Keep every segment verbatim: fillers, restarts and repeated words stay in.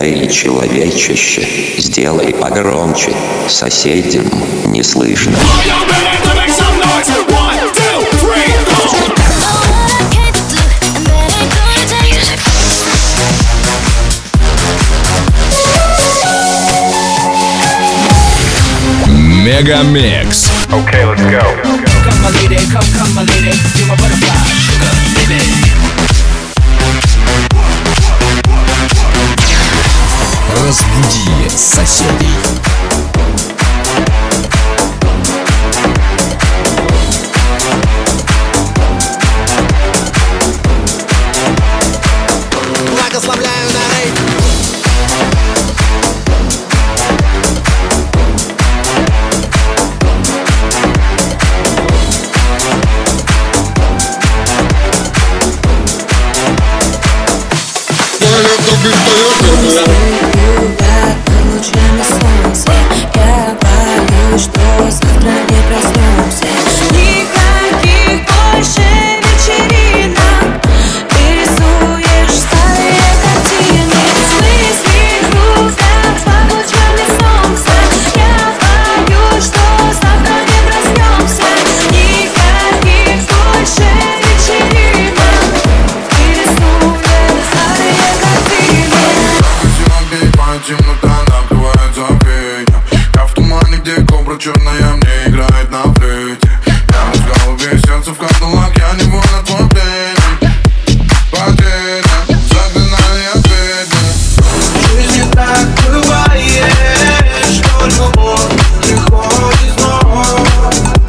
Эй, человечище, сделай погромче, соседям не слышно. Мегамикс. Okay, let's go. Come my lady, come, come my lady, you're my butterfly, sugar, baby. Разбуди соседей. Благословляю на рейд. Лучами солнца я боюсь, что завтра не проснемся. Никаких больше вечеринок. Ты рисуешь старые картины. Мысли кружат под лучами солнца. Я боюсь, что завтра не проснемся. Никаких больше вечеринок. Ты рисуешь старые картины. Темнота накрывает забвенье. Я в тумане, где кобра черная мне играет на флейте. Я в голове, сердце в кандалах, я невольно твой пленник. Потеря, заклинание бедных. В жизни так бывает, что любовь приходит снова.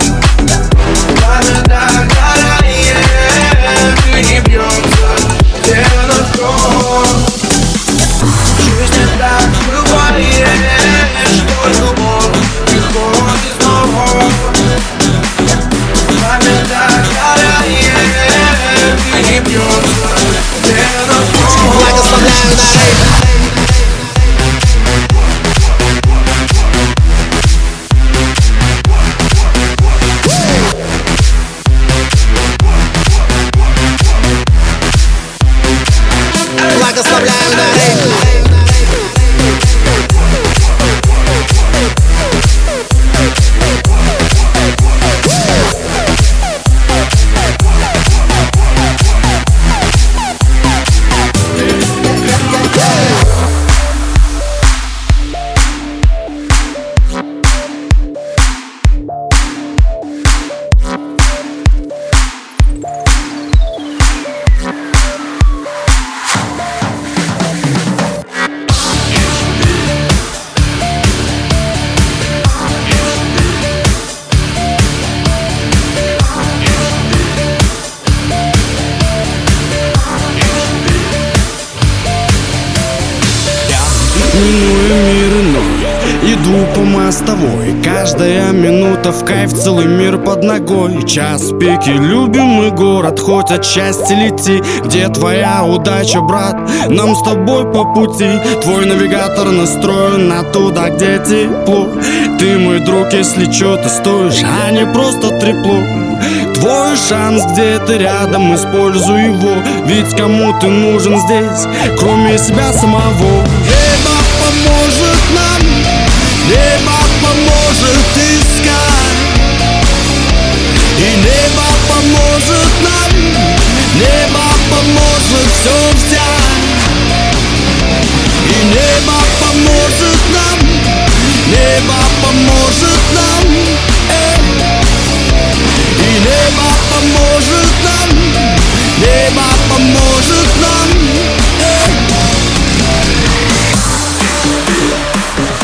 Пламя так горает, и не бьется тело кровь. В жизни так бывает, что любовь приходит снова. Пламя так горает, и не бьется тело кровь. Благословляю на рейд. Благословляю на рейд. Миную мир иной, иду по мостовой. Каждая минута в кайф, целый мир под ногой. Час пики, любимый город, хоть отчасти лети. Где твоя удача, брат? Нам с тобой по пути. Твой навигатор настроен на туда, где тепло. Ты мой друг, если чё, ты стоишь, а не просто трепло. Твой шанс где-то рядом, используй его. Ведь кому ты нужен здесь, кроме себя самого? Небо поможет нам, небо поможет искать. И небо поможет нам, небо поможет все взять. И небо поможет нам, небо поможет нам, э. И небо поможет нам, небо поможет нам, э.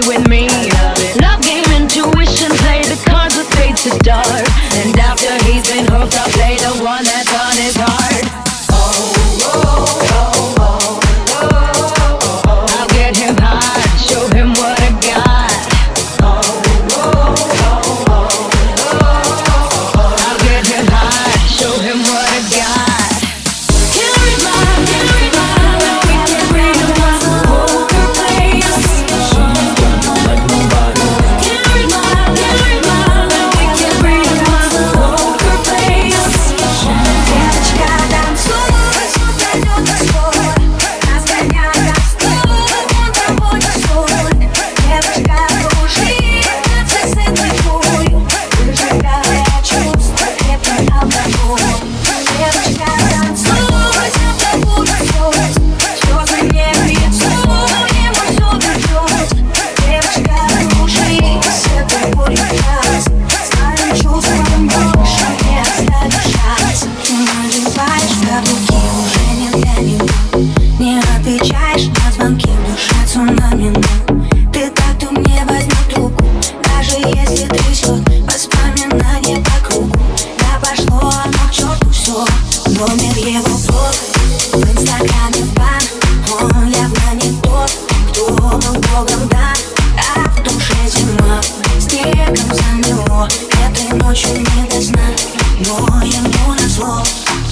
with me. Love game, intuition, play the cards with fate to dart. And after he's been hooked, I'll play the one that's on his heart. Oh, oh, oh, oh, oh, oh. I'll get him high, show him what I got. Oh, oh, oh, oh, oh. I'll get him high, show him what I got. Can't read my, can't read my, we can read my poker face. Like nobody. Can't read my, can't read my, we can read my poker face. Девочка танцует, пройдет свой, разгоняя строй, он тобой танцует. Девочка кружит, процессы твой, выжигая чувства, крепкий алкоголь. Девочка танцует, тобой танцует, слезы не лицо, ему все вернет. Девочка кружит, свет будет газ, своим чувством больше не оставишь шанс. Ты надеваешь каблуки, уже не для него, не отвечаешь на звонки, в душе цунами. Ты так, кто мне возьмет трубку, даже если трясет воспоминания по кругу. Да пошло оно к черту все, номер его профиль в инстаграме в бан. Он явно не тот, кто был богом дан, а в душе зима, снегом замело. Этой ночью не до сна, но ему назло.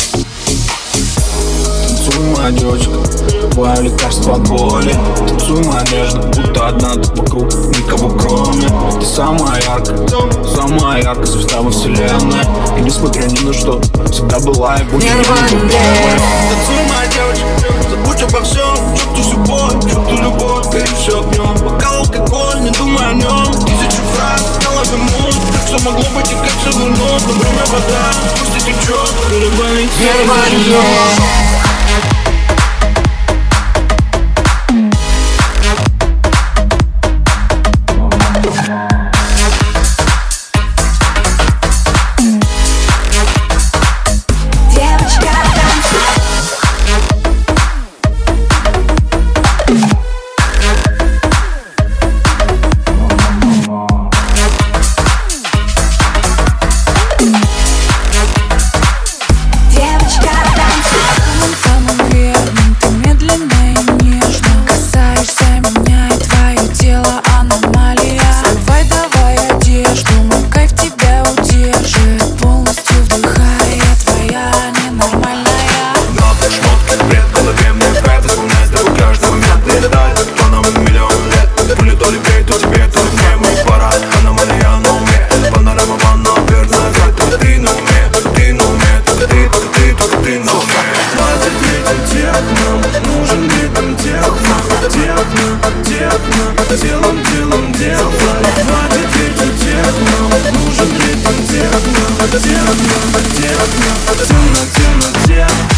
Танцуй, моя девочка, твое лекарство от боли. Танцуй, моя нежно, будто одна тут вокруг, никого кроме. Ты самая яркая, самая яркая звезда во вселенной. И несмотря ни на что, всегда была и будет. Танцуй, моя девочка, забудь обо всем, чувствуй всю боль, чувствуй любовь, гори все огнем. Бокал, алкоголь, не думай о нем. Тысячи фраз, в голове мут, как все могло быть и как все вернуть. Но время вода, пусть и течет, переболит все. Девочка танцует. Девочка танцует. Самым верным ты медленно и нежно касаешься меня, и твое тело аномалия. Давай, давай одежду, мой кайф тебя удержит, полностью вдыхая, твоя ненормальная. Надо шмот, как бред, в голове мне вред. Вспоминай с тобой каждый момент, не летает, как планом миллион лет. Пули то ли бей, то тебе, то ли мне, мой пора. Аномалия на уме, панорама ванна, верная вред. Только ты на уме, ты на уме, только ты, только ты, только ты на уме. Хватит ритм техно, нужен ритм техно, техно, техно, телом, телом техно. Хватит ритм техно, нужен ритм техно, техно, техно, темно, темно, техно.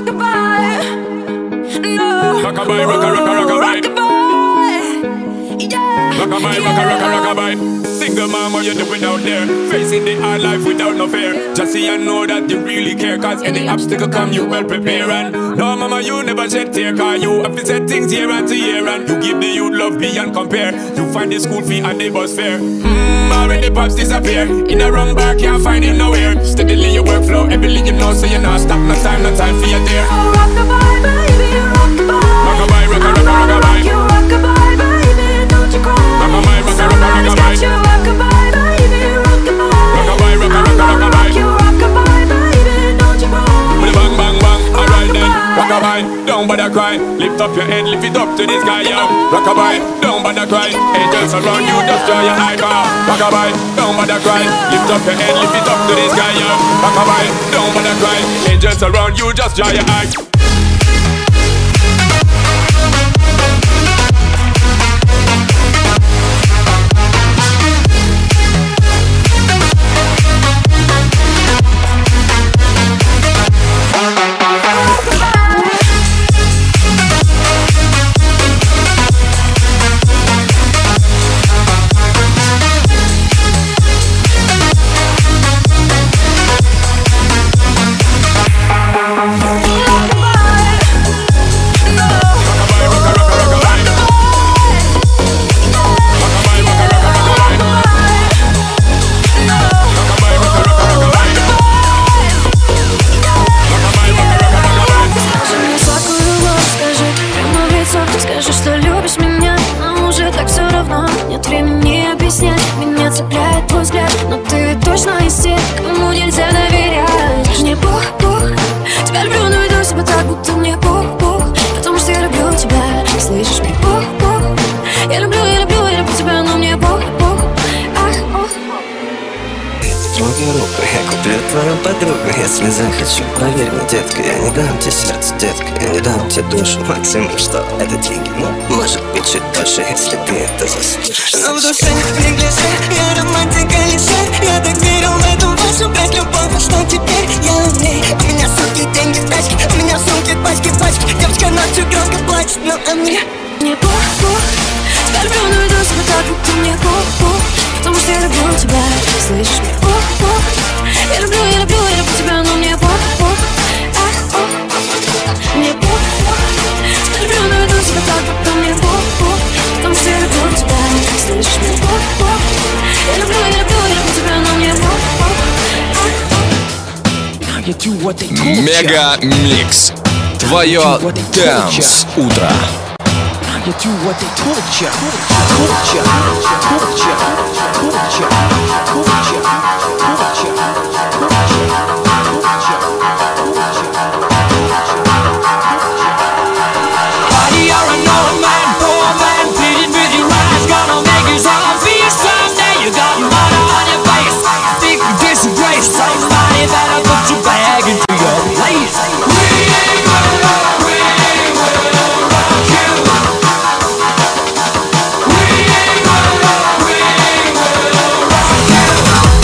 rockabye. No, Rockabye, rocka, rocka, rockabye. rockabye. Yeah, Rockabye, rocka, rocka, rockabye. Single mom, what you doing out there? Facing the hard life without no fear. Just see and know that you really care, cause any obstacle come, you well prepare. And no, mama, you never shed tear, cause you have to set things year after year. And you give the youth love beyond compare. You find the school fee and the bus fare. Mmm, already pops disappear. In a wrong bar, can't find him nowhere. Steadily your workflow, everything you know, so you not stop, no time, no time for your dear. oh, rockabye, baby, rockabye. Rockabye, rocka, rocka, rockabye. You rockabye, baby, don't you cry. Rockabye, rocka, rocka, Somebody's got rockabye. you rockabye, baby, rockabye. Rockabye, rocka, rocka, I'ma rockabye. rock you rockabye, baby, don't you cry. With a bang, bang, bang, alright then. Rockabye, don't bother cry. Lift up your head, lift it up to the sky, yo. Rockabye, don't bother cry. Angels around you, just draw your eye car. Rockabye, don't bother cry. Lift up your head, lift it up to the sky, yo. Rockabye, don't bother cry. Angels around you, just draw your eye. Скажи, что любишь меня, но уже так все равно. Нет времени объяснять, меня цепляет твой взгляд. Но ты точно из тех, кому нельзя доверять. Мне пух-пух, тебя люблю, но веду себя так, будто мне пух-пух. Потому что я люблю тебя, слышишь, мне пух-пух. Я люблю, я люблю, я люблю тебя, но мне пух-пух. Ах, ух. Трогай руку, я куплю твою подругу, если захочу. Поверь мне, детка, я не дам тебе сердце, детка. Я не дам тебе душу, максимум, что это деньги. Ну, может быть, чуть дольше, если ты это заслужишь. Но в душе не неглиже, я романтика лише. Я так верил в эту вашу брать любовь, а что теперь я умней. У меня сумки, деньги в тачке, у меня в сумке пачки, пачки. Девочка ночью громко плачет, но а мне Мне пух-пух, тебя люблю, но веду себя так, будто мне пух-пух. Потому что я люблю тебя, слышишь, мне пух-пух. Я люблю, я люблю, я люблю тебя, но мне пух-пух. Ах, ух. Мне пух-пух, тебя люблю, но веду себя так, будто мне пух-пух. Потому что я люблю тебя, слышишь, мне пух-пух. Я люблю, я люблю, я люблю тебя, но мне пух-пух. Мега Микс. Твое Dance утро. You do what they told ya, told ya, told ya, told ya, told ya, told ya. Buddy, you're an old man, poor man, pleading with your eyes, gonna make his heart feel someday. You got murder on your face, think you disgrace. Somebody better put your bag into your place. We ain't gonna rock, we ain't gonna rock you. We ain't gonna rock, we ain't gonna rock you.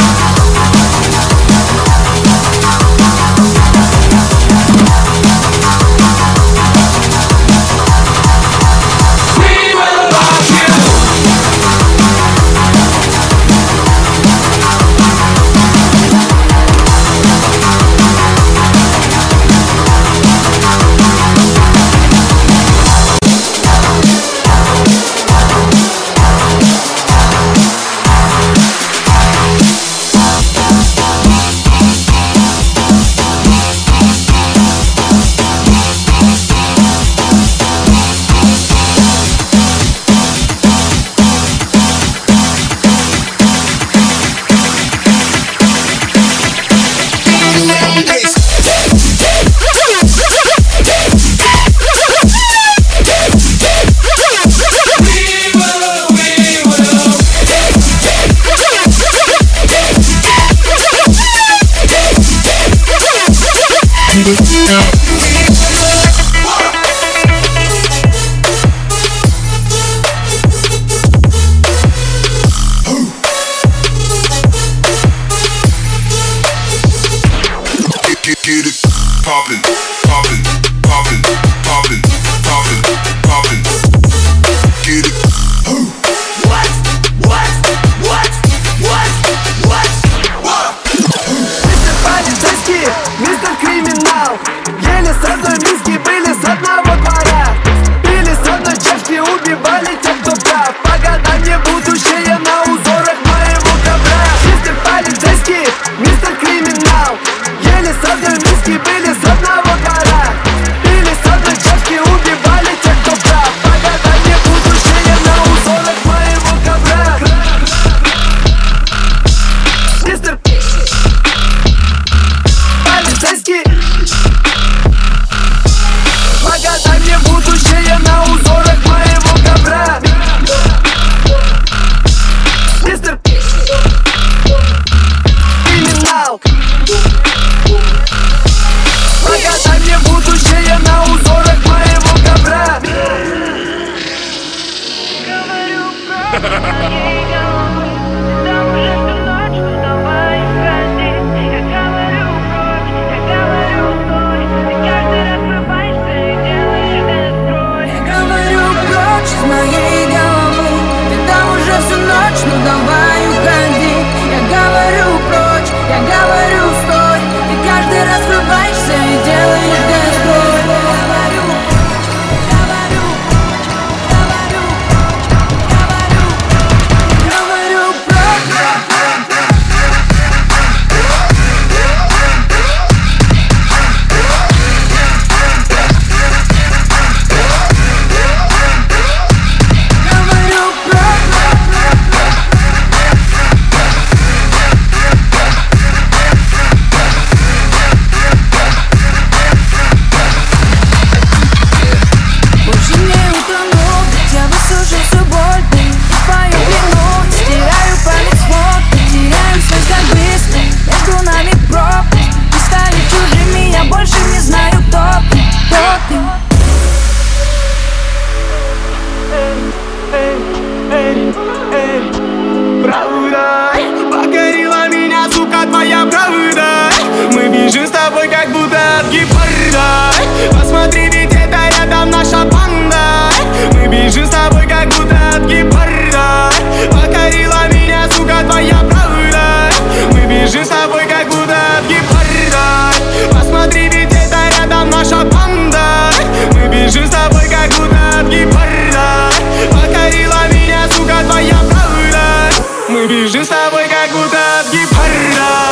Посмотри, ведь это рядом наша банда. Мы бежим с тобой, как будто от гепарда. Покорила меня, сука, твоя правда. Мы бежим с тобой, как будто от гепарда. Посмотри, ведь это рядом наша банда. Мы бежим с тобой, как будто от гепарда. Покорила меня, сука, твоя правда. Мы бежим с тобой, как будто от гепарда.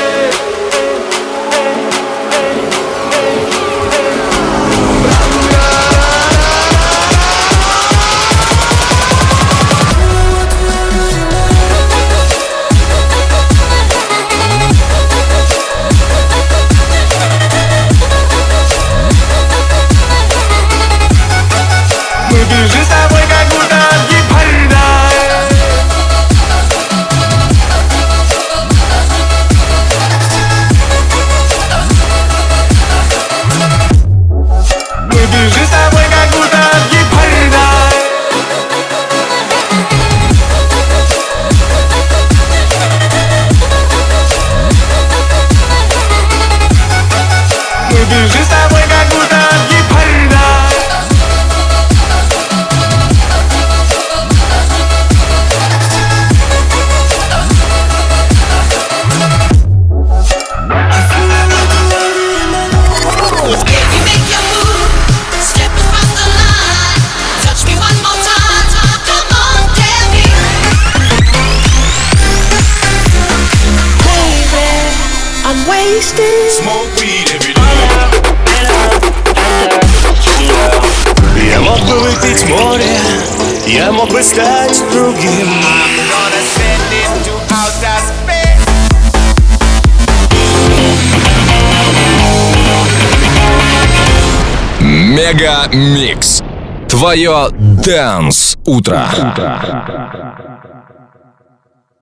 Мы бежим с тобой, как будто от гепарда. Мы бежим с тобой, как будто от гепарда. Мы бежим с тобой, как будто от гепарда. Smoke weed every day. Я мог бы выпить море, я мог бы стать другим. Мега Микс. Твое Dance утро.